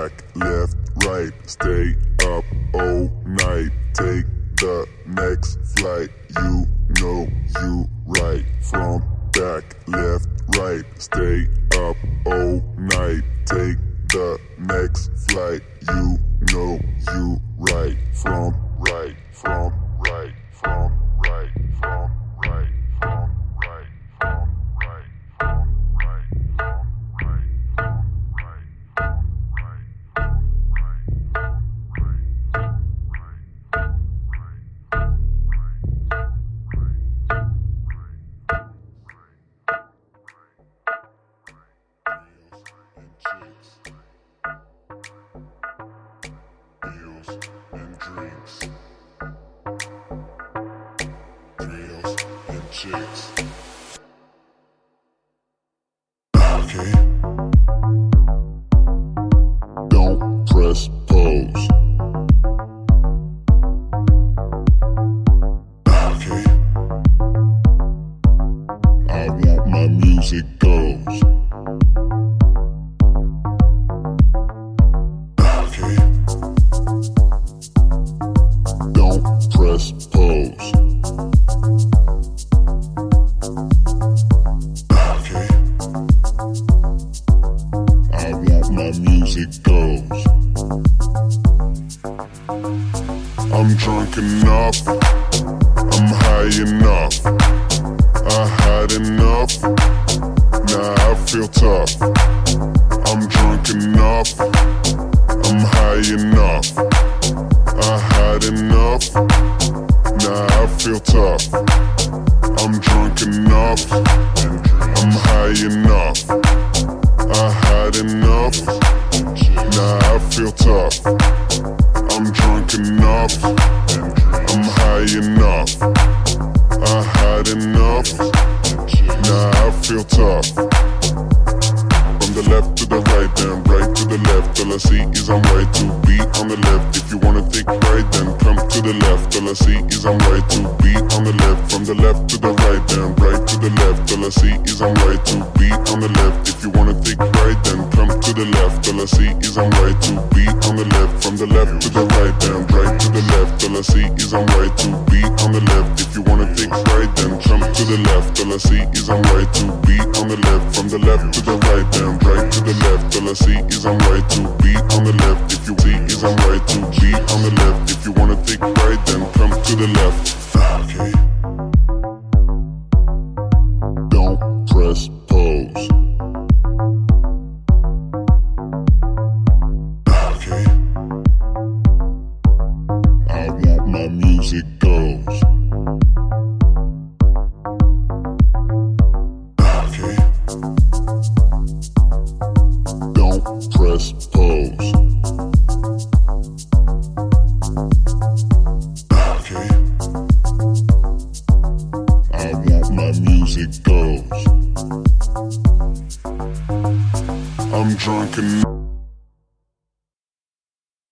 back, left, right, stay up all night, take the next flight, you know you right. From back, left, right, stay up all night, take the next flight, you know you right. From right, from right, from right, from right, from right, from right, from right, from right, from right, from right, chicks. Okay. Don't press pause. Okay. I want my music goes. Okay. Don't press pause. My music goes. I'm drunk enough, I'm high enough, I had enough, now I feel tough. I'm drunk enough, I'm high enough, I had enough, now I feel tough. I'm drunk enough, I'm high enough, I had enough, now I feel tough. I'm drunk enough, I'm high enough, I had enough, now I feel tough. From the left to the right, then right to the left, all I see is I'm right to be on the left. If you wanna think right, then come to the left, all I see is I'm right to be on the left. From the left to the right, then right to the left, all I see is I'm right to be on the left. If you wanna think right, then come to the left, all I see is I'm right to be on the left. From the left to the right, then right to the left, all I see is I'm right to be on the left. If you wanna think right, then come to the left, all I see is I'm right to be on the left. From the left to the right, then right to the left, all I see is I'm right to be on the left. If you see is I'm right to be on the left. If you wanna think right, then come to the left. Okay. Don't press pause. Okay. I want my music goes. Okay. Don't press pause. Okay. I want my music goes. I'm drunk enough.